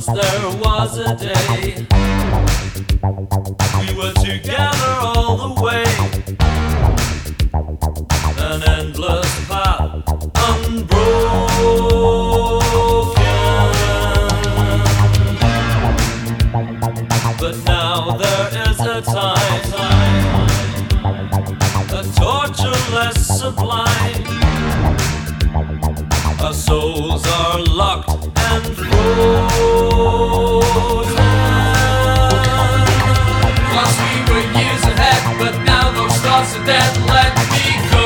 there was a day we were together all the way. An endless path unbroken. But now there is a time, a torture less sublime. Our souls are locked and frozen. Once we were years ahead, but now those thoughts are dead. Let me go.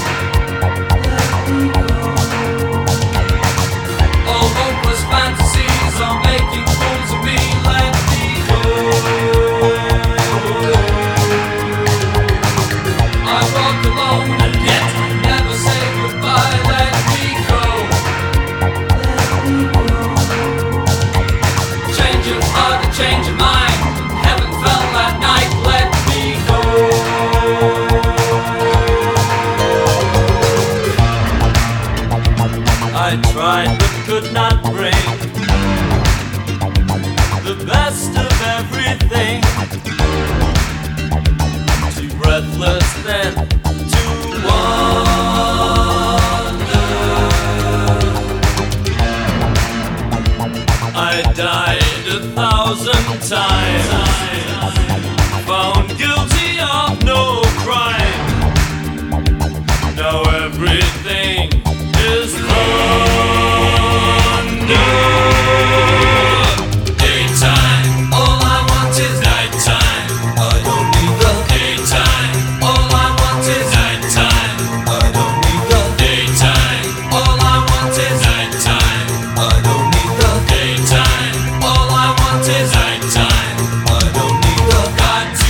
All hopeless fantasies are making fools of me. Let me go. I walk alone and yet never say goodbye. Let me go. Change your heart and change your mind. Heaven fell that night. Let me go. I tried but could not bring the best of everything. Too breathless then to wonder. I died 1,000 times, found guilty of no crime. Now everything is thunder. Daytime, all I want is nighttime. I don't need the daytime. All I want is nighttime. I don't need the daytime. All I want is nighttime. I don't need the daytime. All I want is nighttime. I don't need the got to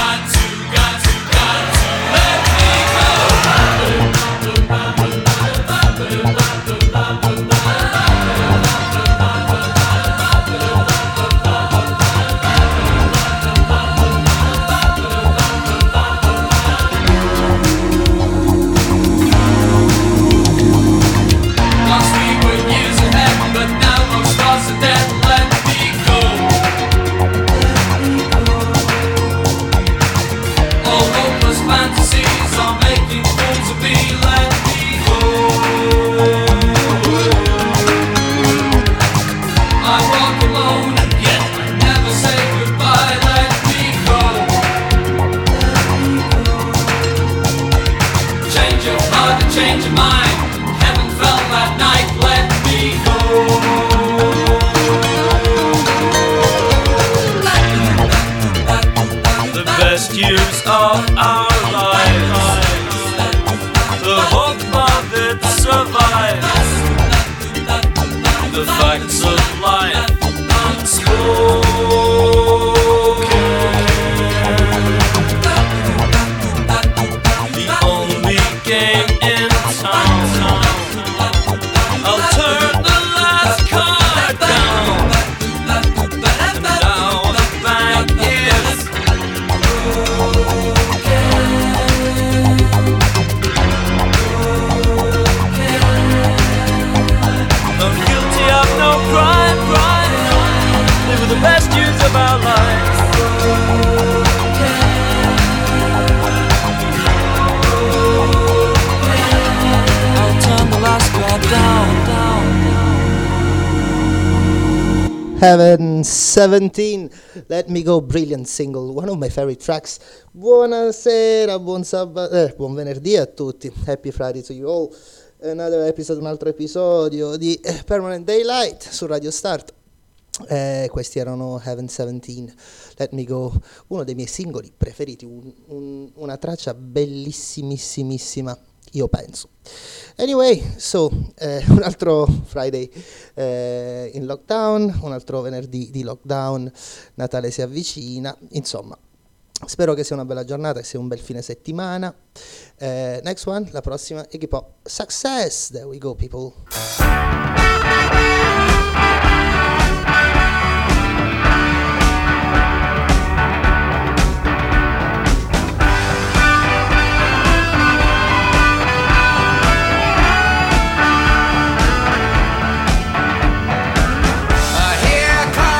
let me go. Once we were years ahead, but now those stars are dead. Let me go. All hopeless fantasies are making fools of me. Let me go. I walk alone and yet I never say goodbye. Let me go. Change your heart and change your mind. Heaven fell that night. Let me go. The best years of our lives, the hope of it survives. The facts of life unspoken. The only game in town. I'll turn the last card down. And now the bank is I'm guilty of no crime. They were the best years of our lives. I'll turn the last card down. Heaven 17, Let Me Go, brilliant single, one of my favorite tracks. Buonasera, buon venerdì a tutti. Happy Friday to you all. Un altro episodio di Permanent Daylight su Radio Start. Questi erano Heaven 17, Let Me Go, uno dei miei singoli preferiti, una traccia bellissimissimissima, io penso. Anyway, so un altro Friday in lockdown, un altro venerdì di lockdown, Natale si avvicina, insomma. Spero che sia una bella giornata, che sia un bel fine settimana. Next one, la prossima, Iggy Pop, Success. There we go, people. Here comes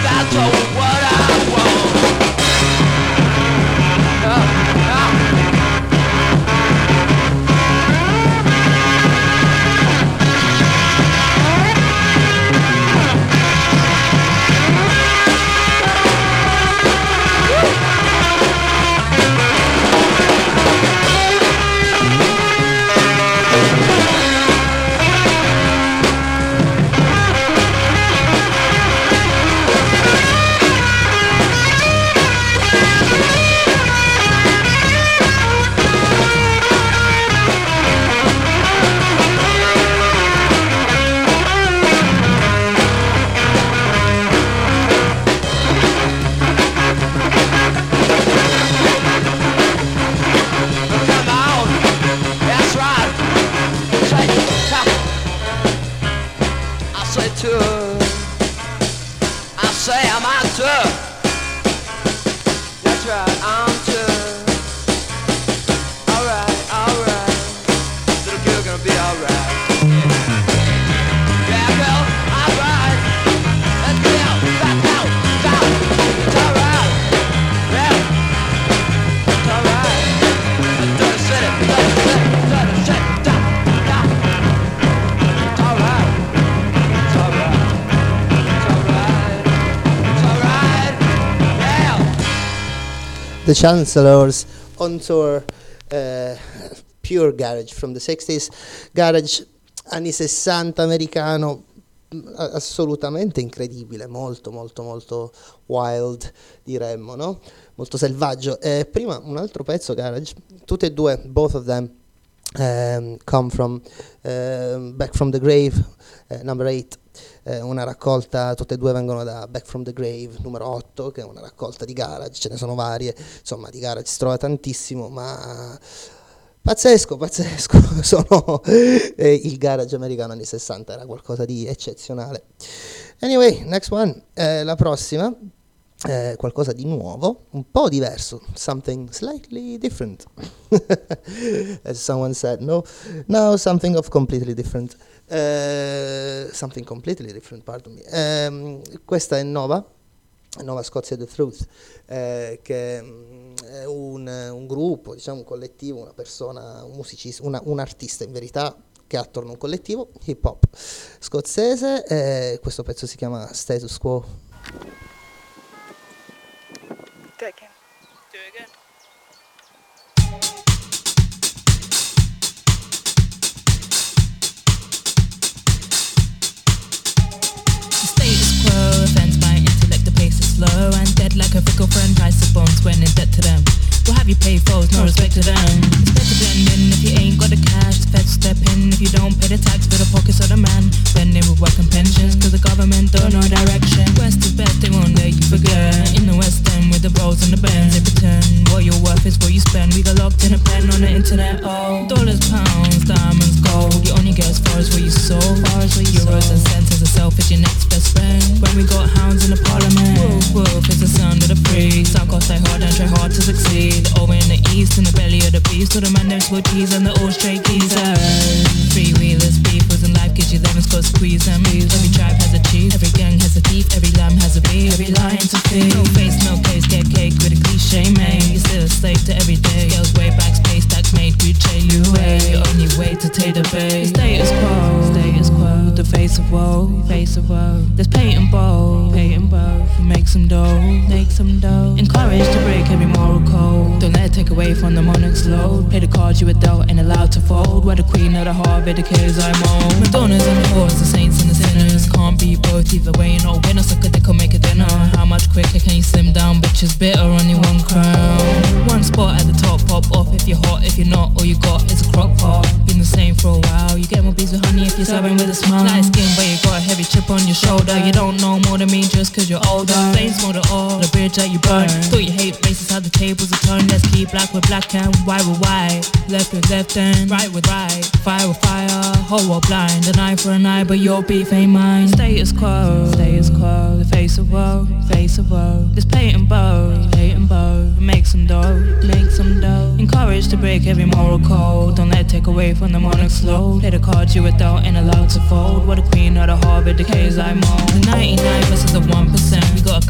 that's all what I want. The Chancellors on tour, pure garage from the 60s, garage anni 60 americano, assolutamente incredibile, molto molto molto wild diremmo, no? Molto selvaggio. Prima un altro pezzo garage, tutte e due, both of them come from Back from the Grave, number 8. Una raccolta, tutte e due vengono da Back from the Grave numero 8, che è una raccolta di garage, ce ne sono varie, insomma di garage si trova tantissimo, ma pazzesco, sono il garage americano anni 60 era qualcosa di eccezionale. Anyway, next one, la prossima, qualcosa di nuovo, un po' diverso, something slightly different, as someone said, no, something of completely different. Something completely different, pardon me. Questa è Nova Scotia The Truth, che è un gruppo, diciamo un collettivo, una persona, un musicista, un artista in verità che ha attorno a un collettivo hip hop scozzese. Questo pezzo si chiama Status Quo. Do it again. Slow and dead like a fickle friend, price of bones when in debt to them. Will have you pay foes, no respect to them. It's better blend in if you ain't got the cash. The feds step in if you don't pay the tax for the pockets of the man. Spending with work and pensions, cause the government don't know direction. West is best, they won't let you forget. In the West End with the bros and the bands, they pretend what your worth is what you spend. We got locked in a pen on the internet, oh. Dollars, pounds, diamonds, gold. You only get as far as what you sold. Euros and cents as a self is your next best friend. When we got hounds in the parliament. Wolf is the sound of the free. Some cost stay hard and try hard to succeed. Over in the east, in the belly of the beast. To the man them switchies and the old stray keys. Freewheelers, beefers and life gives you lemons, go squeeze them. Every tribe has a chief, every gang has a thief, every lamb has a bee, every lion to feed. No face, no case, get cake with a cliche made. You're still a slave to every day. Girls way back, space tax made, greed you away. Only way to take the bait. Status quo, the face of woe, There's Peyton Bow, make some dough, Encouraged to break every moral code. Don't let it take away from the monarch's load. Play the cards you were dealt and allowed to fold. We're the queen of the heart, the kids I'm on. Madonnas and the whores, the saints and the sinners. Can't be both either way, no winner. Suck a dick or make a dinner. How much quicker can you slim down? Bitches bitter, only one crown. One spot at the top, pop off if you're hot. If you're not, all you got is a crock pot. Been the same for a while. You get more bees with honey if you're serving with a smile. Light skin, but you got a heavy chip on your shoulder. You don't know more than me just cause you're older. Flames smolder all, the bridge that you burn. Thought you hate races, how the tables are turned. Let's keep black with black and white with white. Left with left and right with right. Fire with fire, whole or blind. An eye for an eye, but your beef ain't mine. Status quo, the face of woe, This Peyton Bow, make some dough, Encouraged to break every moral code. Don't let it take away from the monarch's load. Play the cards you were dealt and allowed to fold. What a queen of the heart, but decays like mold. The 99 versus the 1%. We got a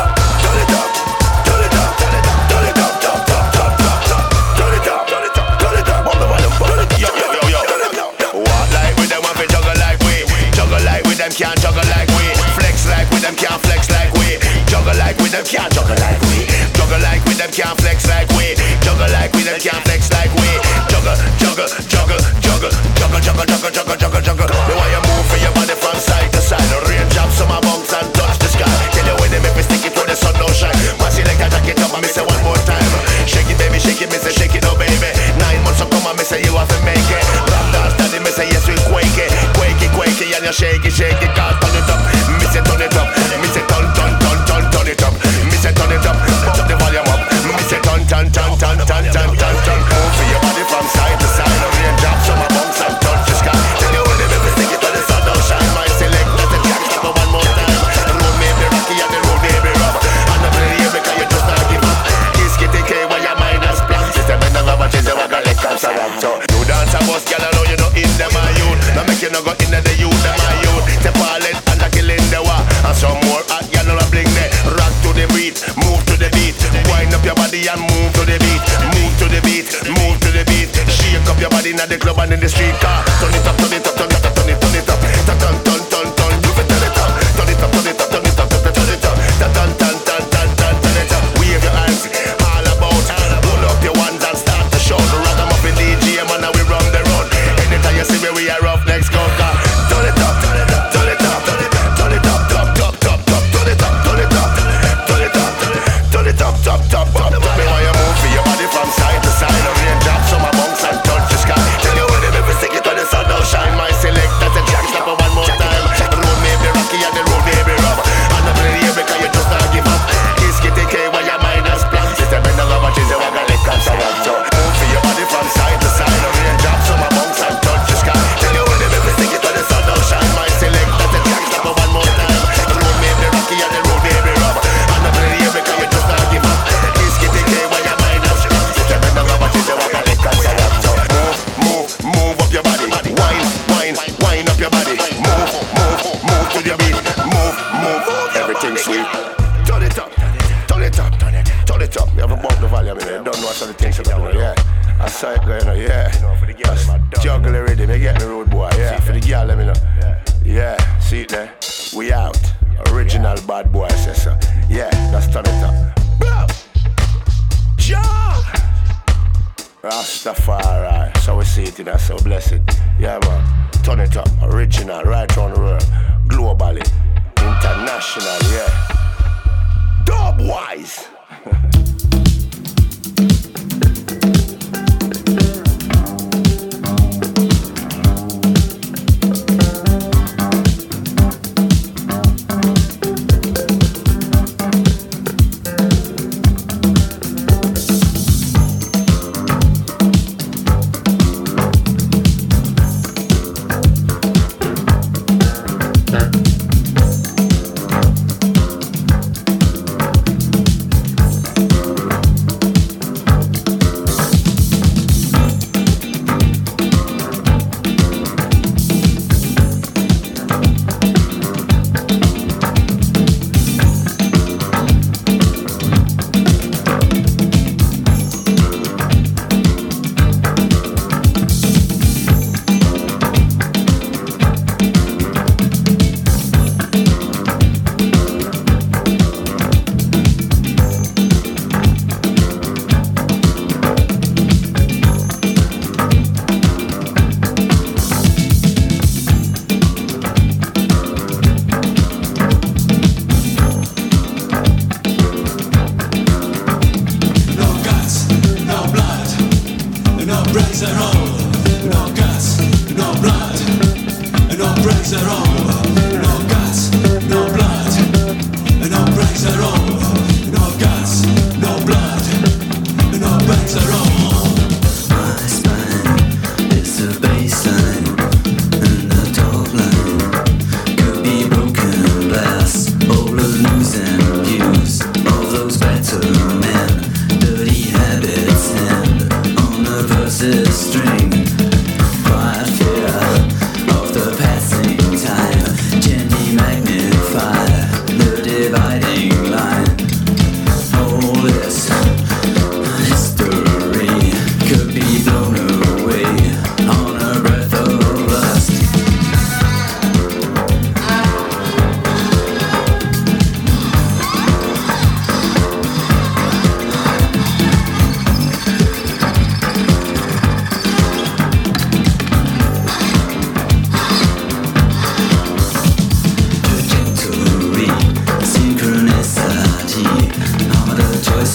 Can't juggle like we. Flex like with them, can't flex like we. Juggle like with them, can't juggle like we. Juggle like with them, can't flex like we. Juggle like with them, can't flex like we. Juggle, juggle, juggle, juggle, juggle, juggle, juggle, juggle, juggle, juggle. The way you move for your body from side to side. Rain drops on my bunks and touch the sky. Tell you when they make me stick it when the sun don't shine. My select a jacket up and me say one more time. Shake it baby, shake it, me say shake it oh baby. 9 months to come and me say you have to make it. Rap dance daddy, me say yes we quake it. Quake it, quake it, and you shake it, shake it. Can't turn it up, me say turn it up. Me say turn, turn, turn, turn, turn it up. Me say turn it up, turn the volume up. Me say turn, turn, turn, turn, turn, turn, turn, turn. Move for your body from side to side. Rain drops on my bunks and touch the sky. Tell you when they make me stick it when the sun don't shine. My select, let the jack stop one more time. The road may be rocky and the road may be rough. I'm not really here because you just not give up. Kiss kitty K while your mind has plans. System in the rubber change, you want to let come surround. So you dance a bus, girl, I know you know in them are youth. Now make you no go in the youth, them are youth. Step all it and a kill in the war. And some more hot girl on a bling there. Rock to the beat, move to the beat. Wind up your body and move to the beat. Move to the beat, move to the beat. Shake up your body in the club and in the street car. Turn it up, turn it up, turn it up, turn it, turn it up. Turn, turn, turn, turn, turn. You fit turn it up. Turn it up, turn it up, turn it up, turn it up. Turn, turn, turn, turn, turn, turn, turn it up. Wave your hands all about. Pull up your ones and start to show. The ragamuffin DJ man and we run the road. Anytime you see me we are rough next go car. Turn it up, turn it up, turn it up, turn it up, turn it up, top, top, top, top. Turn it up, turn it up, turn it up, turn it up, top, top, top. Me want you move for your body from side to side. Rain drops on my bunks and touch the sky. Tell you when they make me stick it when the sun don't shine. My select that's a jack stop one more time. The road may be rocky and the road may be rough. I'm not really here because you just not give up. Kiss kitty K while your mind has plans. System in the rubber change, you want to let come surround. So move for your body from side to side. Rain drops on my bunks and touch the sky. Tell you when they make me stick it when the sun don't shine. My select that's a jack stop one more time. The road may be rocky and the road may be rough. I'm not really here because you just not give up. Kiss kitty K while your mind has plans. System in the rubber change, you want to let come surround. So move up your body. Wine up your body. Move to your beat. Move, everything sweet. Turn it up, turn it up, turn it up. You have a bump the volume in there. You don't know what other things are going on, yeah. I saw it going on, yeah. Juggle the rhythm, you get me road boy, yeah. For the girl, let me know. Yeah, see it there? We out. Original bad boy, says so. Yeah, let's turn it up. Boom! Ja! Rastafari, so we see it in us, so bless it. Yeah man, turn it up, original, right around the world. Globally, international, yeah. Dub-wise.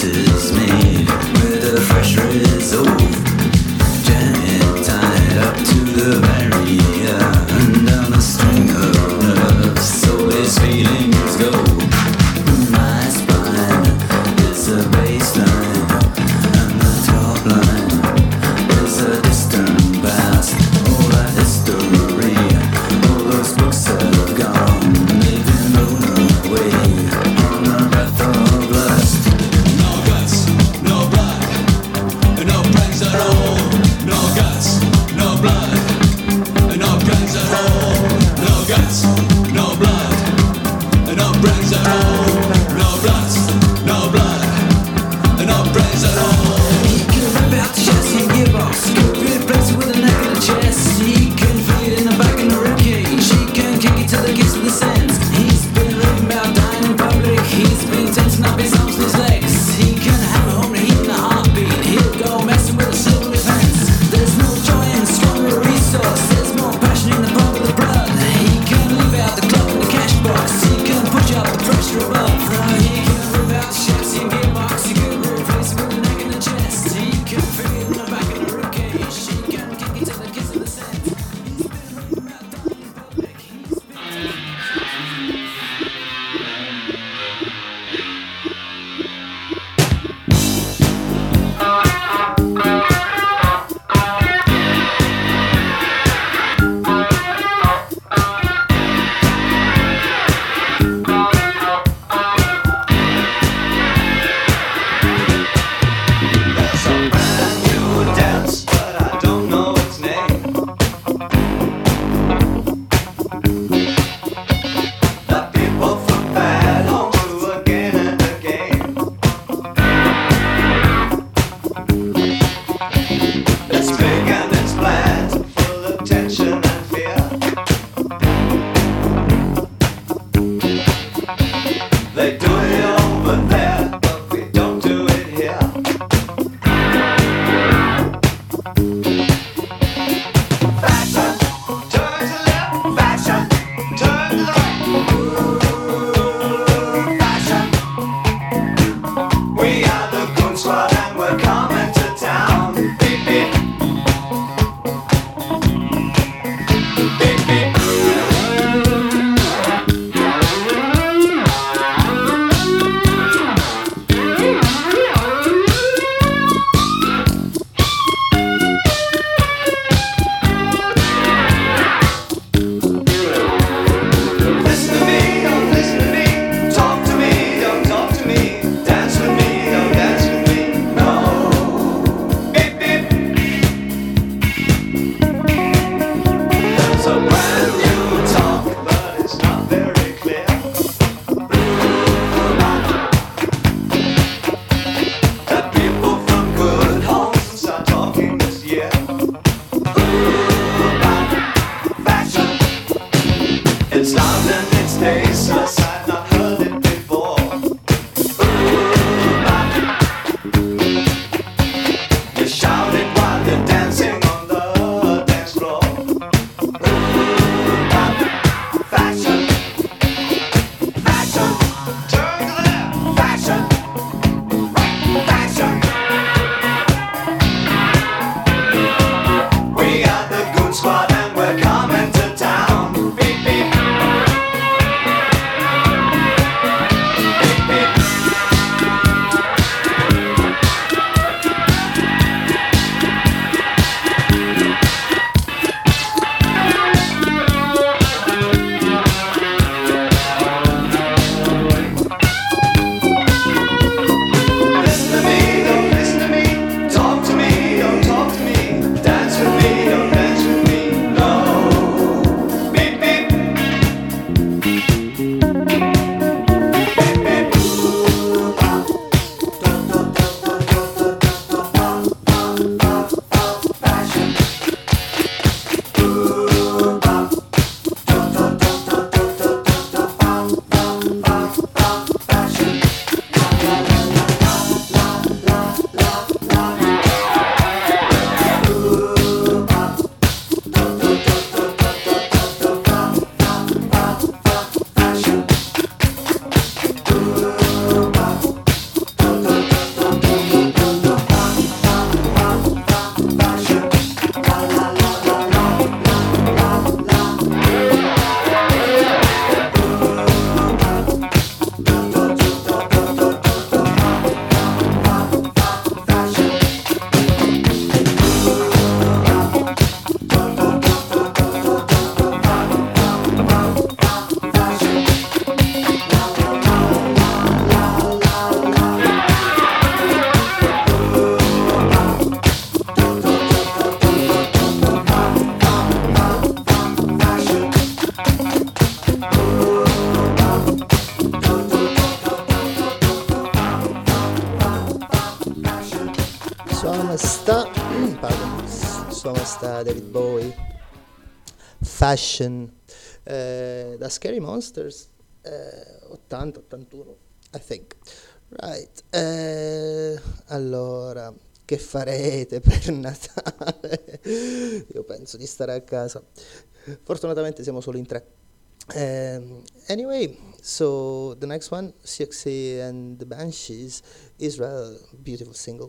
is made with a fresh resolve. Jam it tight up to the barrier, and down a string of nerves, so these feelings go. My spine is a baseline, and the top line is a distant past. All that history, all those books have gone, they've been blown away on a breath of lust. No guts. Insomma sta David Bowie, Fashion, da Scary Monsters, 80-81 I think, right. Allora, che farete per Natale? Io penso di stare a casa, fortunatamente siamo solo in 3. Anyway, so the next one, Siouxsie and the Banshees, Israel, beautiful single.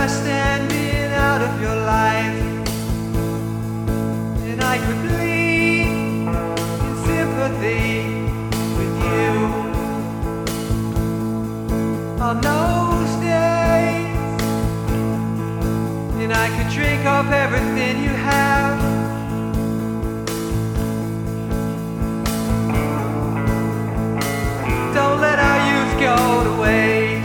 I standing out of your life, and I could bleed in sympathy with you. On those days, and I could drink off everything you have. Don't let our youth go to waste.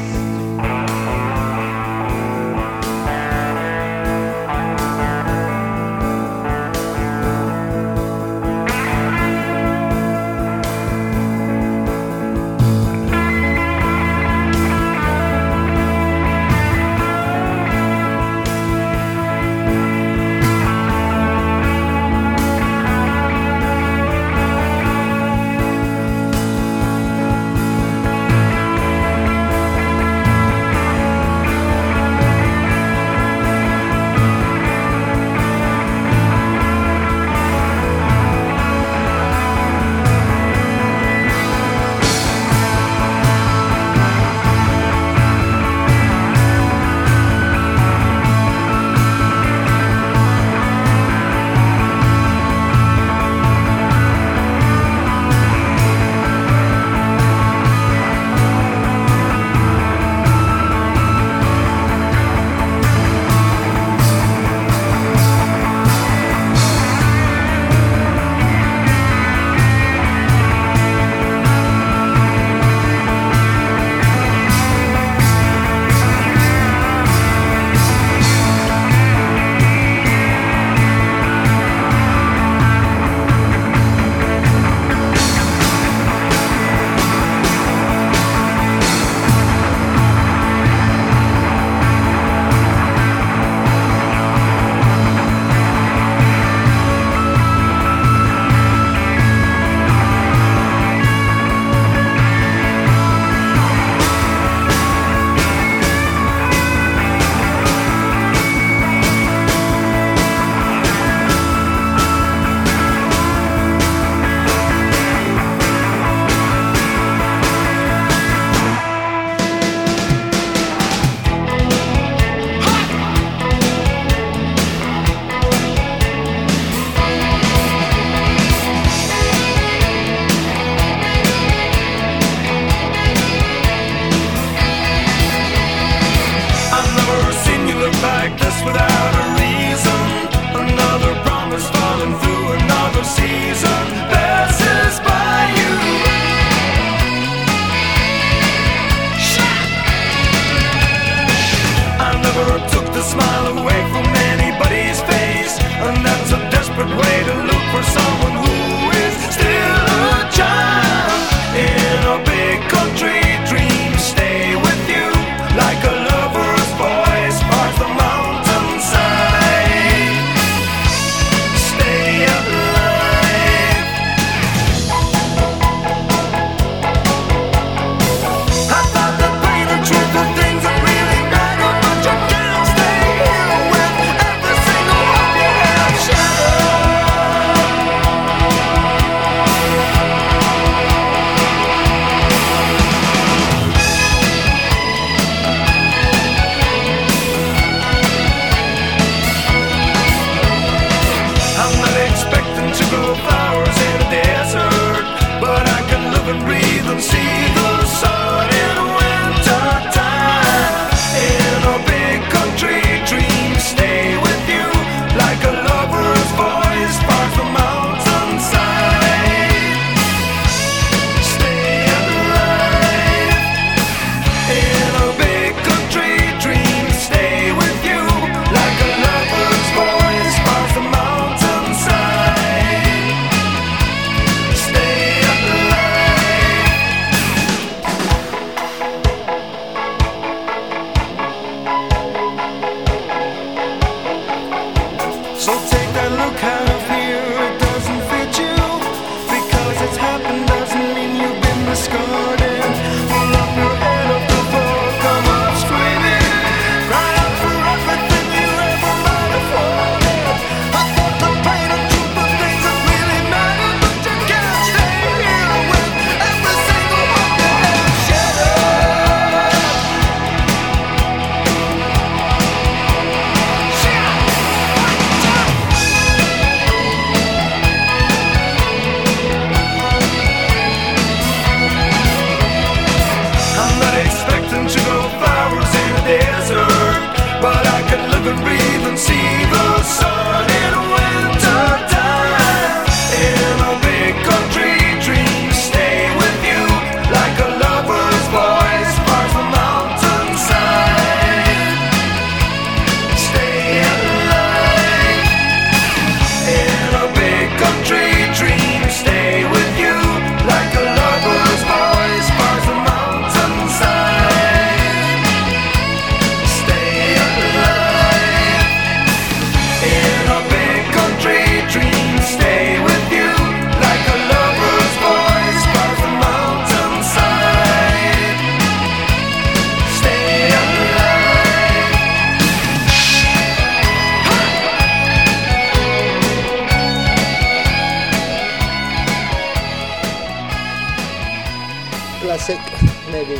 classic, maybe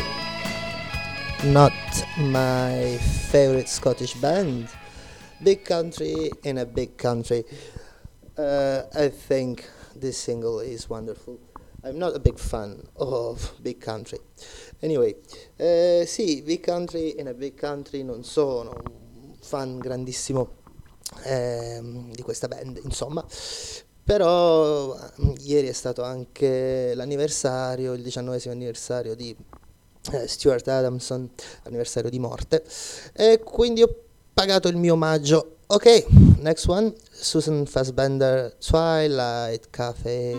not my favorite Scottish band. Big Country in a Big Country. I think this single is wonderful. I'm not a big fan of Big Country. Anyway, sì, Big Country in a Big Country, non sono un fan grandissimo di questa band, insomma. Però ieri è stato anche l'anniversario, il 19° anniversario di Stuart Adamson, anniversario di morte, e quindi ho pagato il mio omaggio. Ok, next one, Susan Fassbender, Twilight Cafe.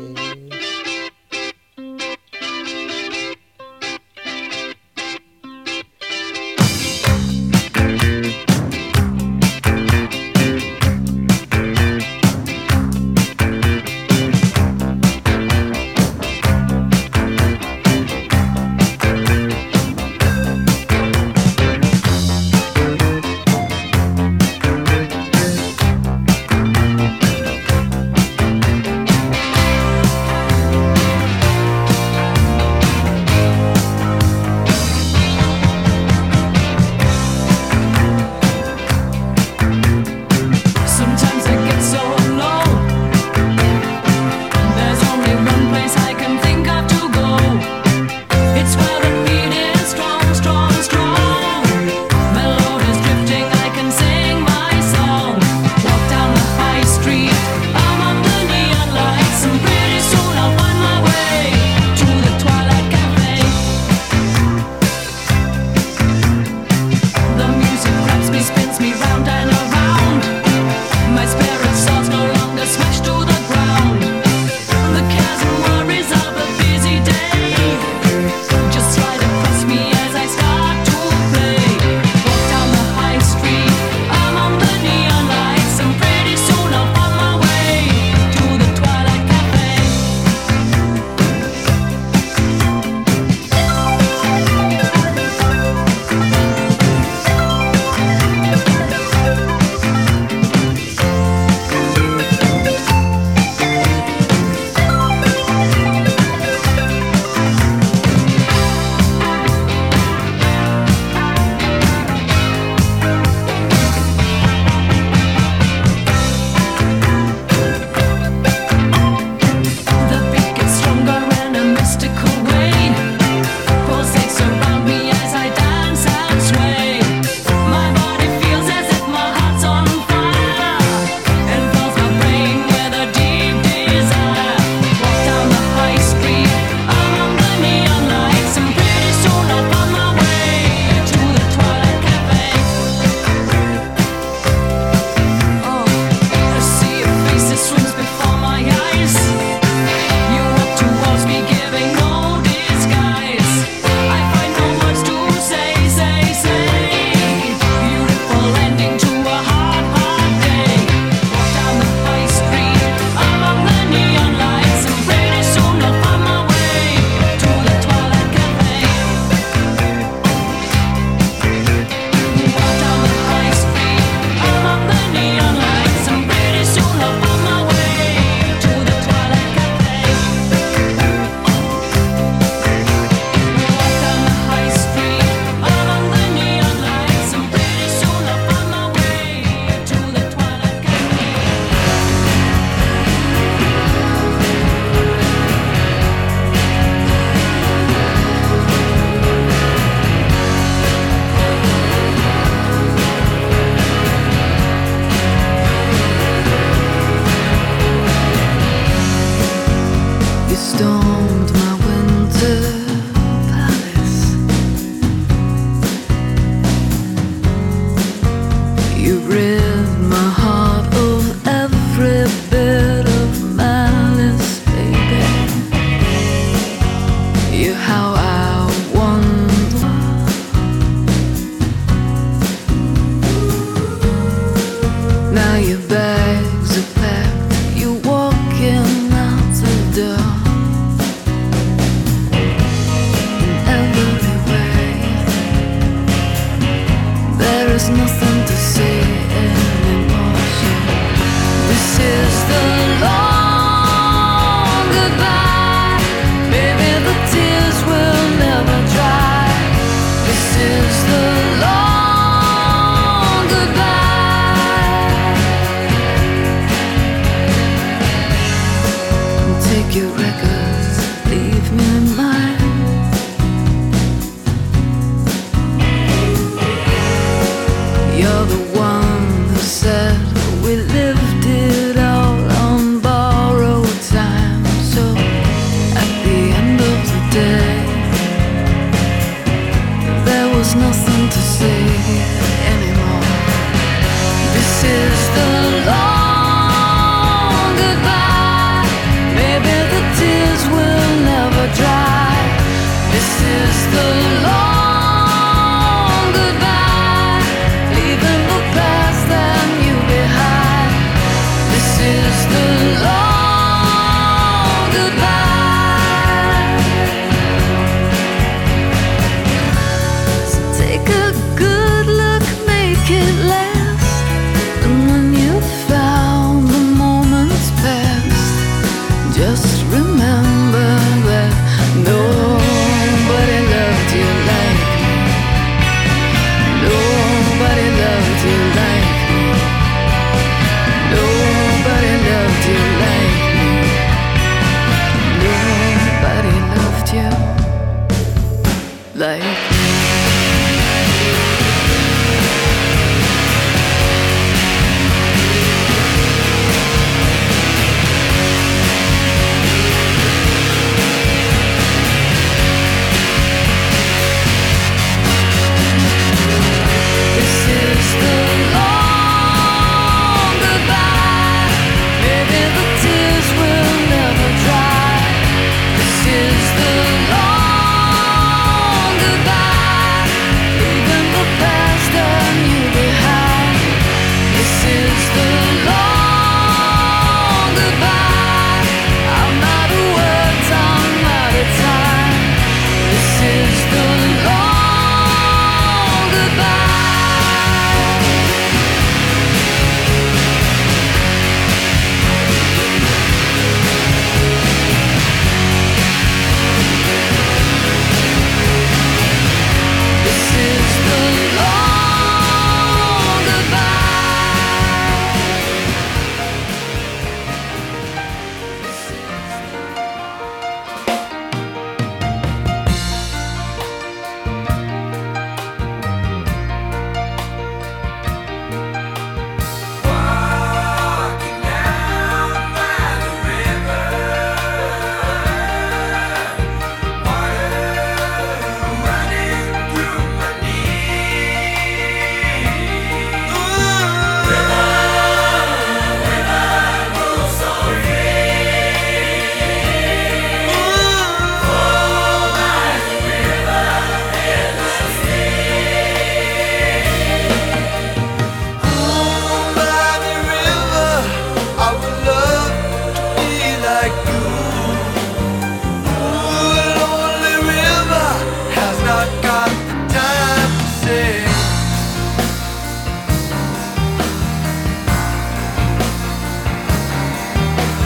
Your bags are packed, you're walking out the door.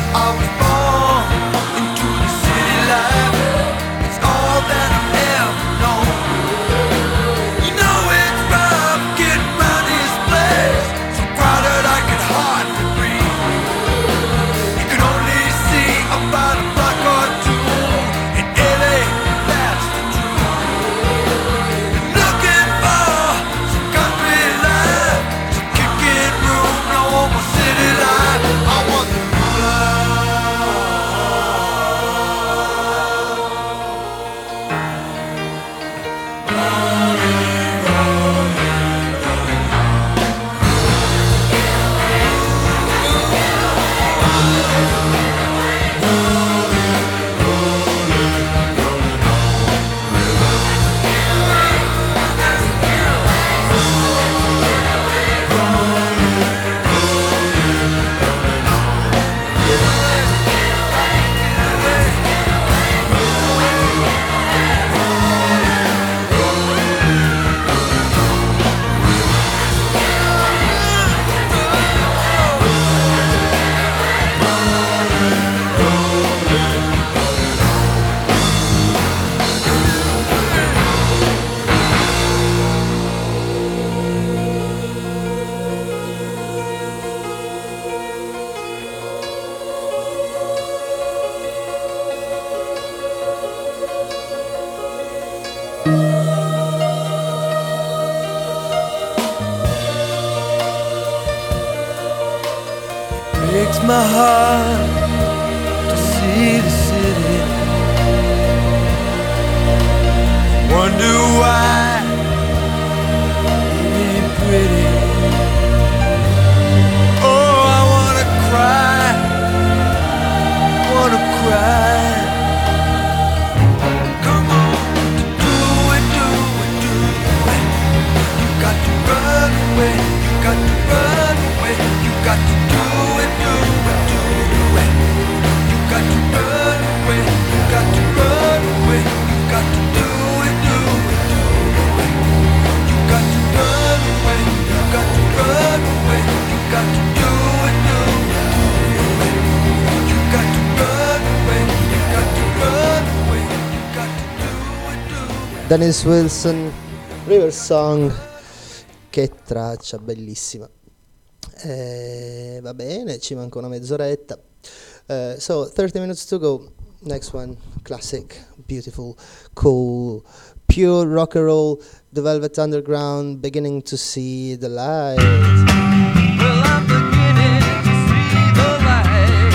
I was born into the city life. It's all that I've ever known. You know it's rough getting round this place, so crowded I can hardly breathe. You can only see about a block or two in LA, that's the truth. And looking for some country life, some kicking room, no more city life. I want the breaks my heart to see the city. Wonder why it ain't pretty. Oh, I wanna cry, wanna cry. Come on, do it, do it, do it. You got to run away, you got to run away, you got to do it, do it, do it. You got to run away, you got to run away, you got to do it, do it, do it. You got to run away, you got to run away, you got to do it, do it, do it. You got to run away, you got to run away, you got to do it, do it. Dennis Wilson, River Song, che traccia bellissima. Va bene, ci manca una mezz'oretta. So 30 minutes to go. Next one, classic, beautiful, cool, pure rock and roll, The Velvet Underground, Beginning to See the Light. Well, I'm beginning to see the light.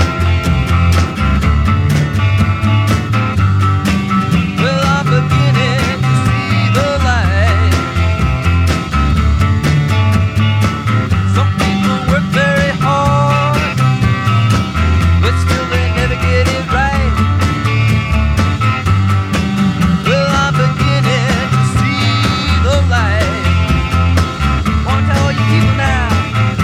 Well, I'm beginning to see the light. Some people work very hard, but still they never get it right. Well, I'm beginning to see the light. Wanna tell all you people now,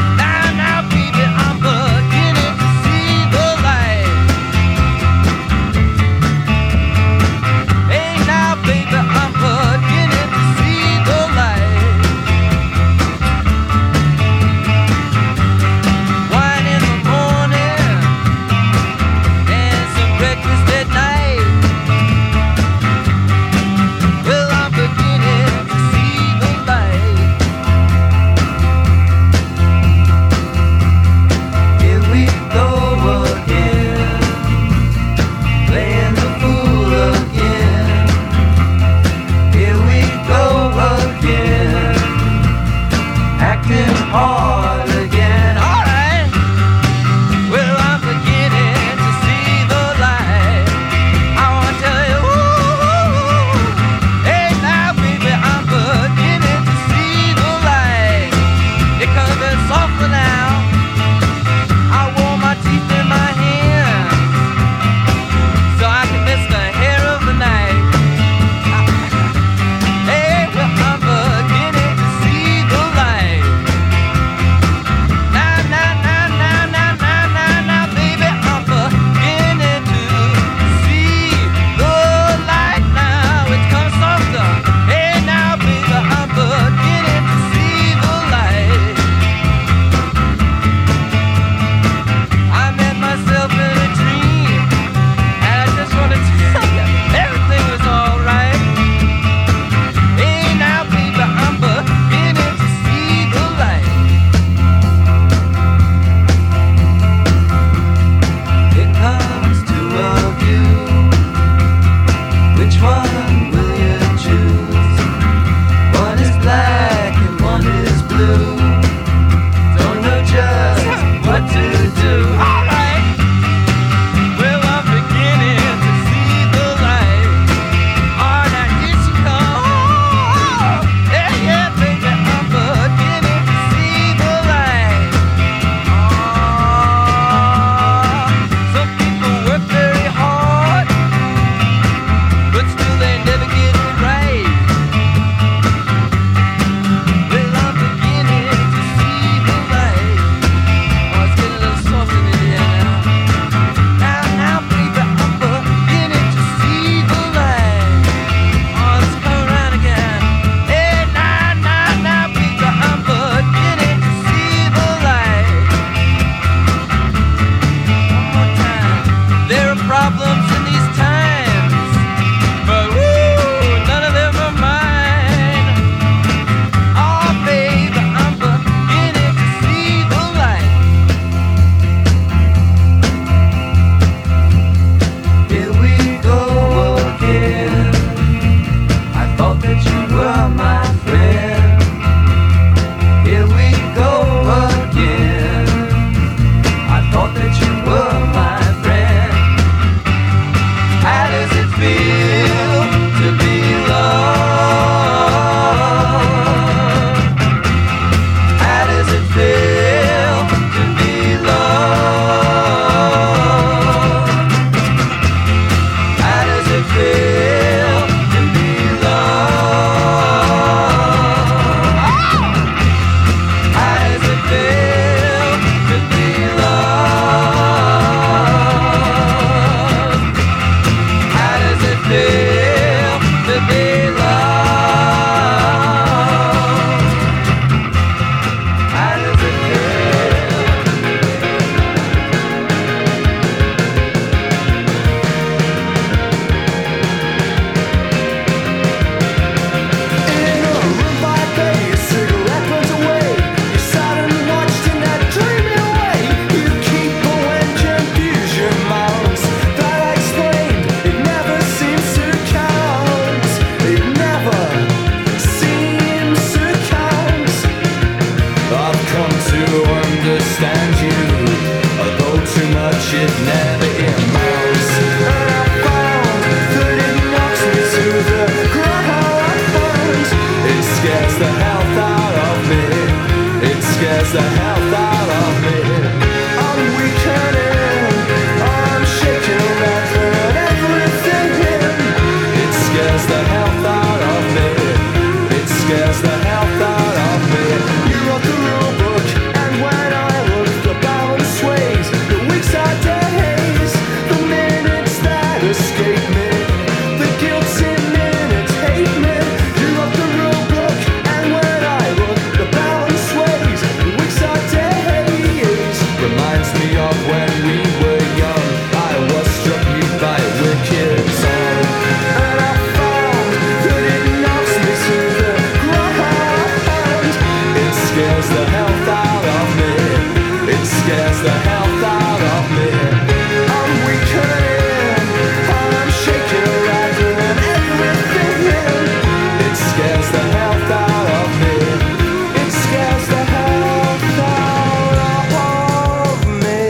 reminds me of when we were young. I was struck by a wicked song, and I found that it knocks me to the ground. It scares the health out of me. It scares the health out of me. I'm weakening, and I'm shaking, rattling everything in. It scares the health out of me. It scares the health out of me.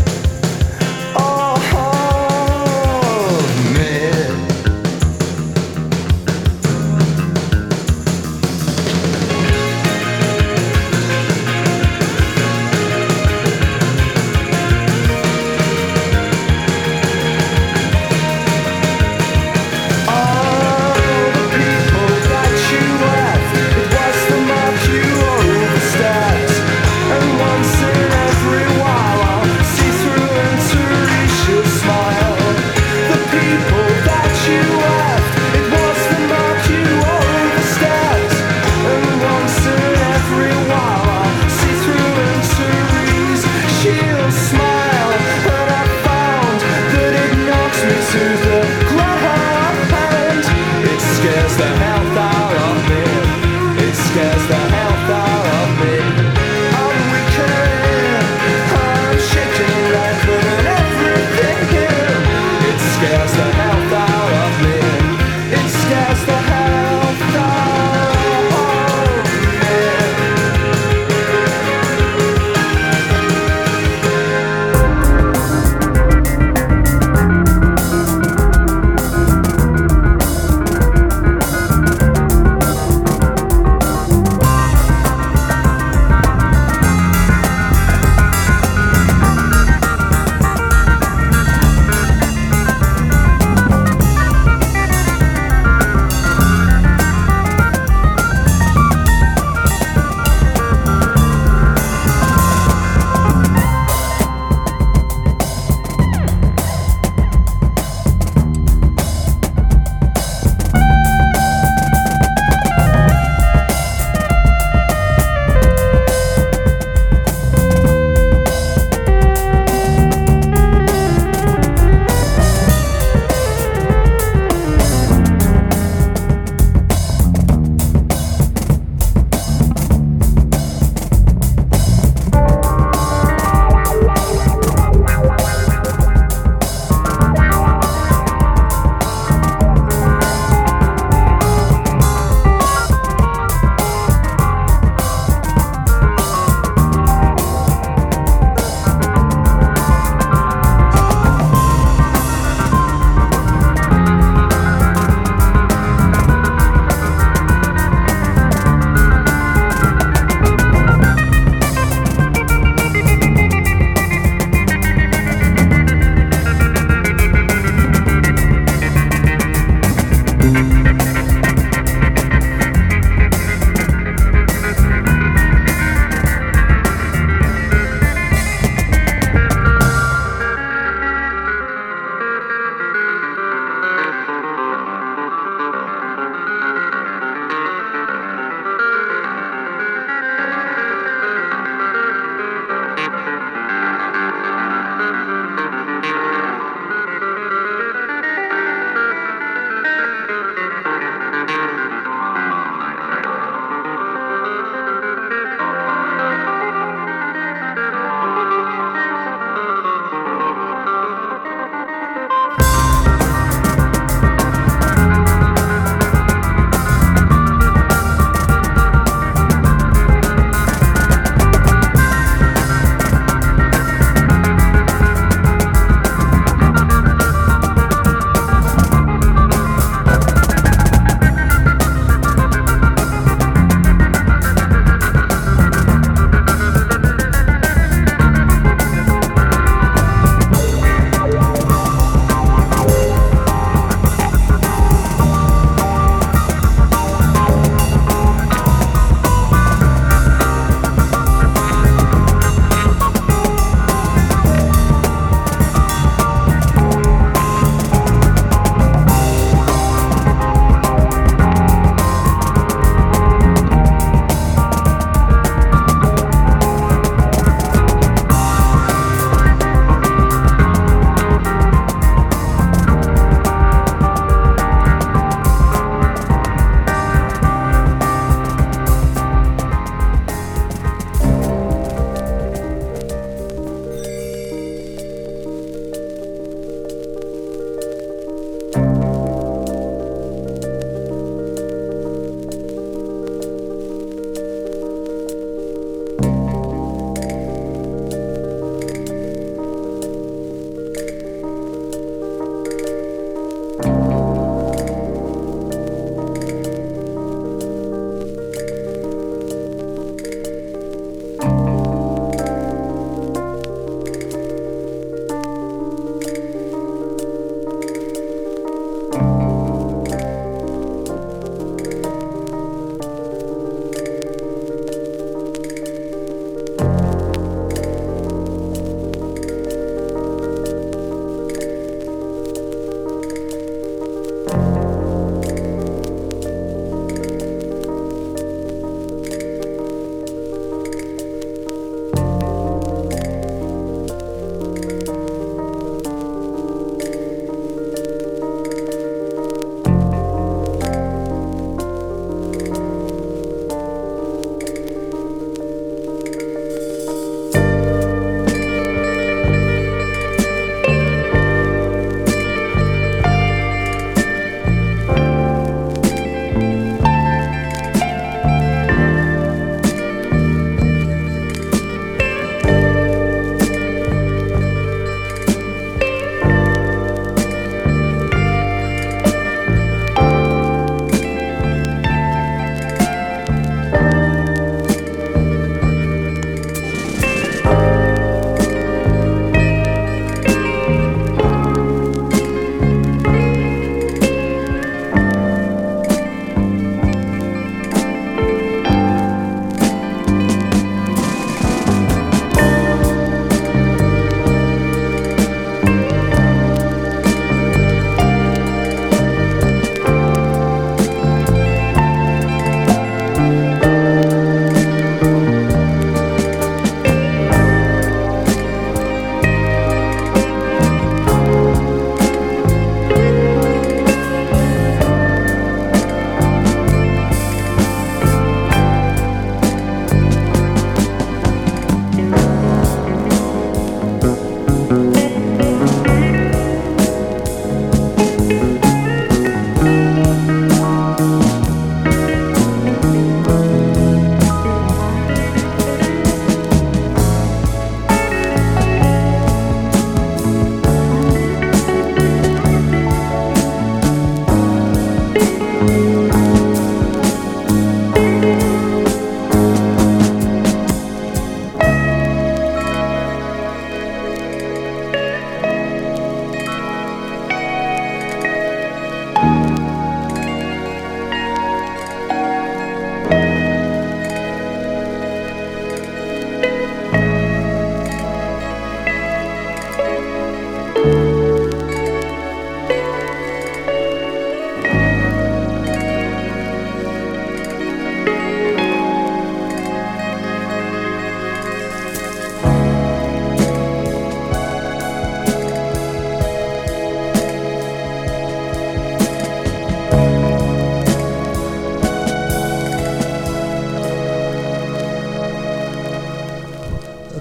Oh, me.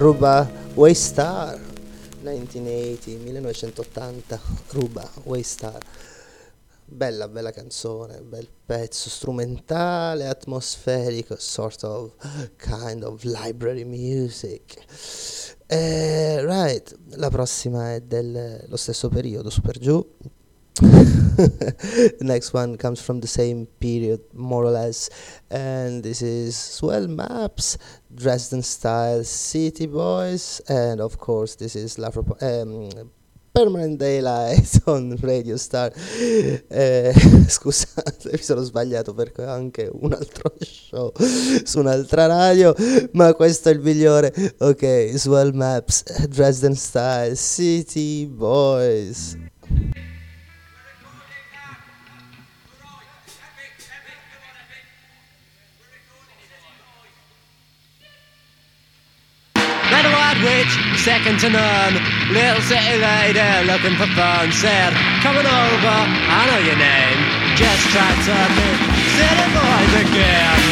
Ruba Waystar 1980, Ruba Waystar. Bella canzone, bel pezzo strumentale, atmosferico, sort of kind of library music. Right, la prossima è dello stesso periodo, super giù. The next one comes from the same period, more or less, and this is Swell Maps, Dresden Style, City Boys, and of course this is Permanent Daylight on Radio Star. Scusate, mi sono sbagliato perché ho anche un altro show su un'altra radio, ma questo è il migliore. Ok, Swell Maps, Dresden Style, City Boys. Little white witch, second to none. Little city lady looking for fun. Said, coming over, I know your name. Just try talking, city boys again.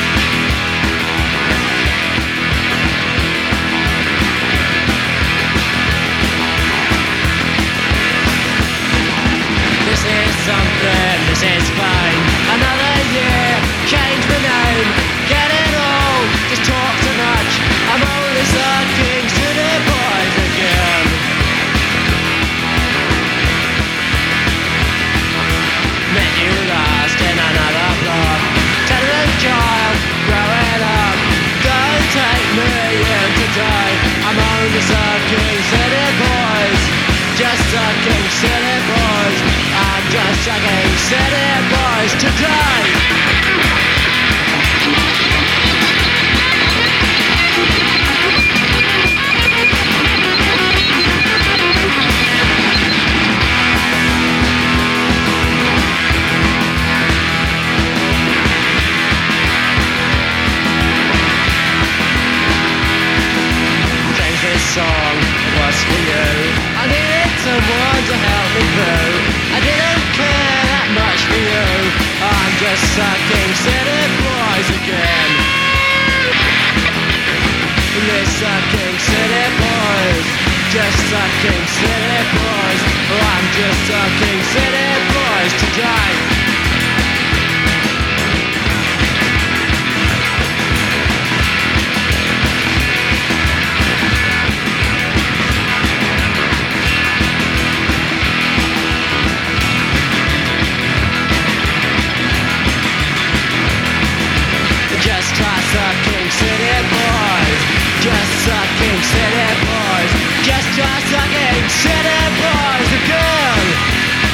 This is something, this is fine. Another year, change my name. Get it all, just talk too much. I'm only sucking city boys again. Met you last in another block. Tenement child, growing up. Don't take me in today. I'm only sucking city boys. Just sucking city boys. I'm just sucking city boys today. Song was for you. I needed someone to help me through. I didn't care that much for you. I'm just sucking city boys again. They're sucking city boys. Just sucking city boys. Oh, I'm just sucking city boys today. Just try sucking city boys. Just sucking city boys. Just try sucking city boys again.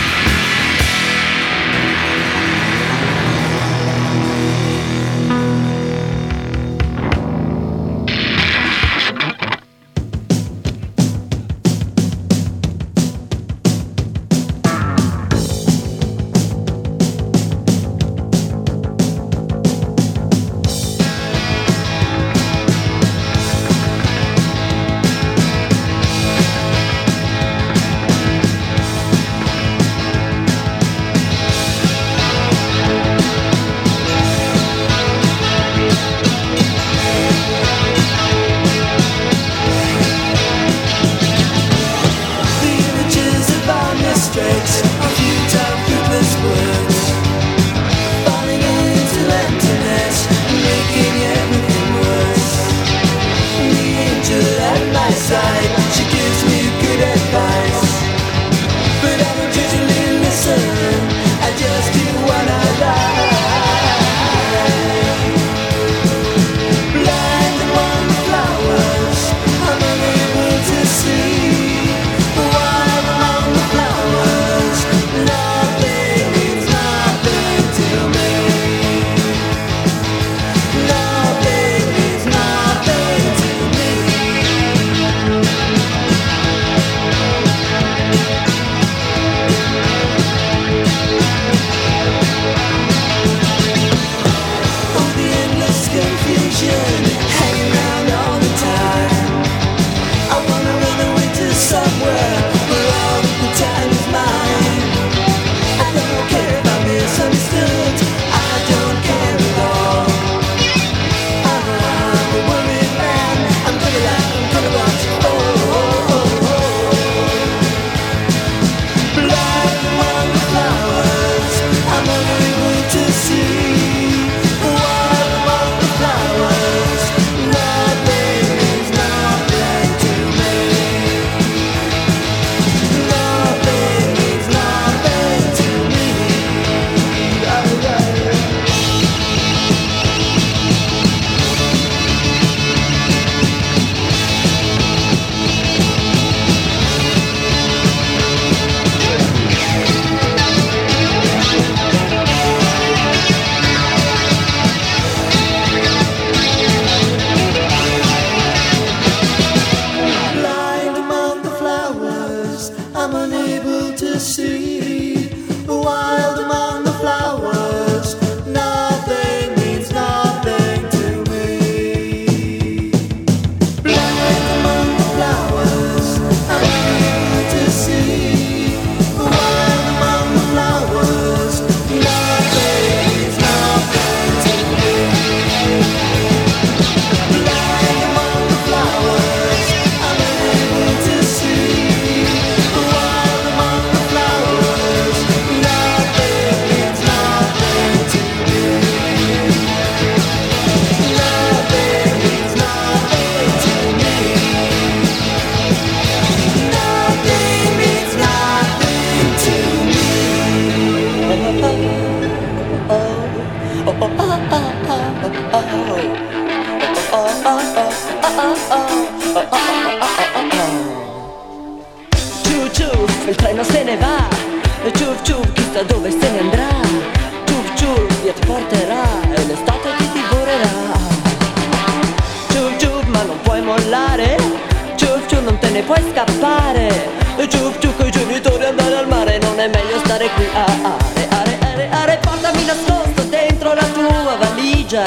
ciuf, il treno se ne va. Ciuf ciuf, chissà dove se ne andrà. Ciuf ciuf, via ti porterà e l'estate ti divorerà. Ciuf ciuf, ma non puoi mollare. Ciuf ciuf, non te ne puoi scappare. Ciuf ciuf, coi genitori andare al mare, non è meglio stare qui a are. Portami nascosto dentro la tua valigia.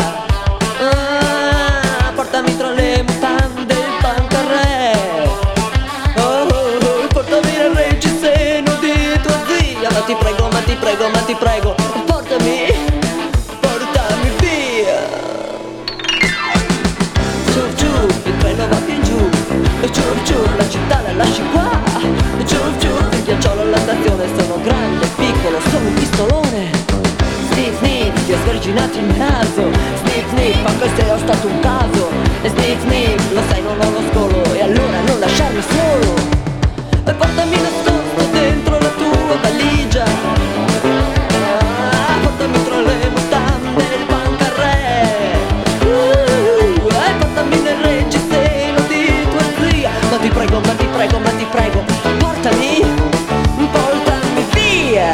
Portami tra le mutande il pancarré. Portami nel reggiseno di tua zia. Ma ti prego, ma ti prego, ma ti prego, portami via. Ciuf ciuf, il treno va più in giù. Ciuf ciuf, la città la lasci qua. Ciuf ciuf, il ghiacciolo alla stazione. Sono grande, piccolo, sono un pistolone. Sniff sniff, ti ho sverginato il naso. Sniff sniff, anche se ho stato un caso. E sniff sniff, lo sai non ho lo scolo. E allora non lasciarmi solo. E portami nascosto dentro la tua valigia. Portami tra le mutande il pancarré. E portami nel reggiseno di tua zia. Ma ti prego, ma ti prego, ma ti prego, portami via.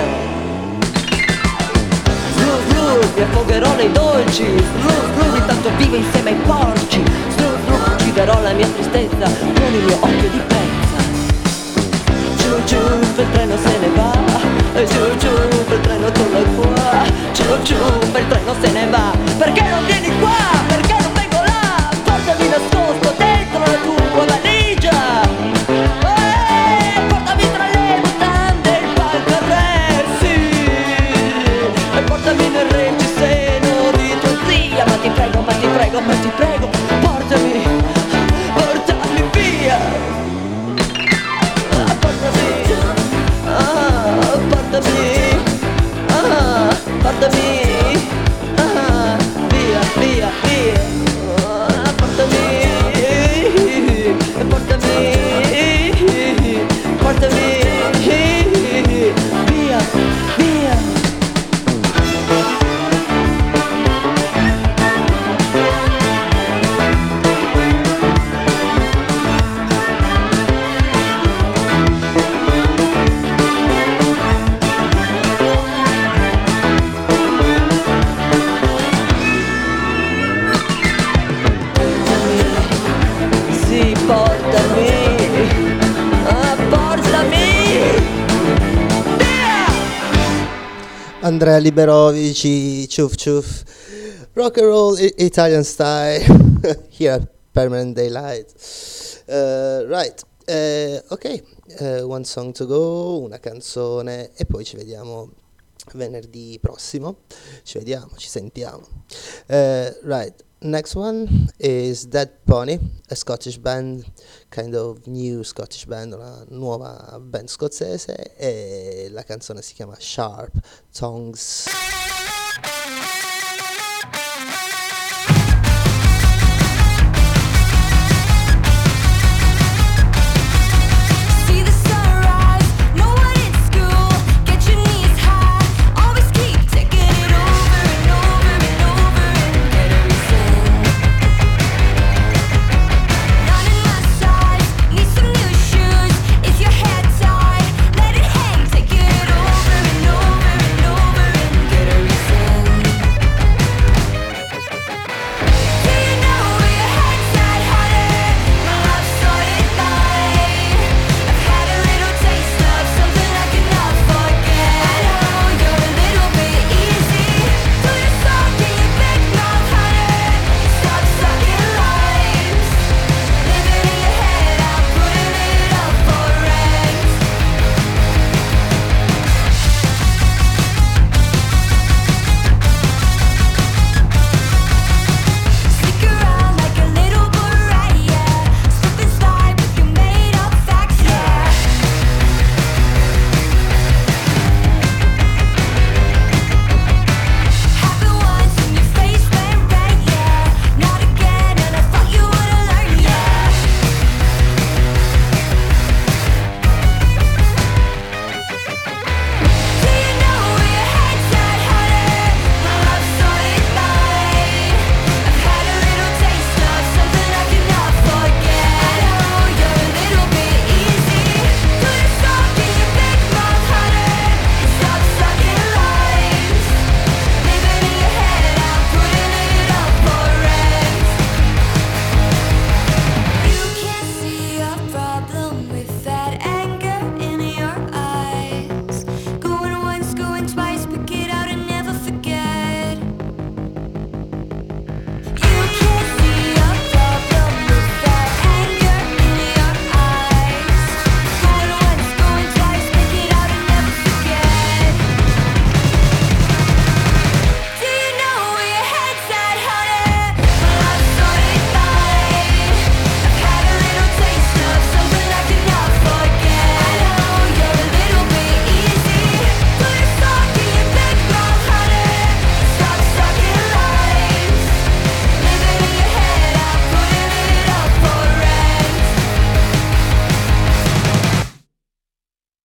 Slu slu, mi affogherò nei dolci. Slu slu, intanto vivo insieme ai porci. Slu slu, ucciderò la mia tristezza con il mio occhio di pezza. Ciu ciu, il treno se ne va. Ciu ciu, il treno torna qua. Ciu ciu, il treno se ne va. Perché non vieni qua? Perché non vengo là? Portami nascosto dentro la tua valigia. Portami tra le mutande il pancarré, sì. E portami nel reggiseno di tua zia. Ma ti prego, ma ti prego, ma ti prego, portami via. Portami via, via, via. Portami via, via. Sì, portami via. Andrea Liberovici, Ciuf Ciuf, rock and roll Italian style, here at Permanent Daylight. Right, ok, one song to go, una canzone e poi ci vediamo venerdì prossimo. Ci vediamo, ci sentiamo. Right, next one is Dead Pony, a Scottish band, kind of new Scottish band, una nuova band scozzese, e la canzone si chiama Sharp Tongues.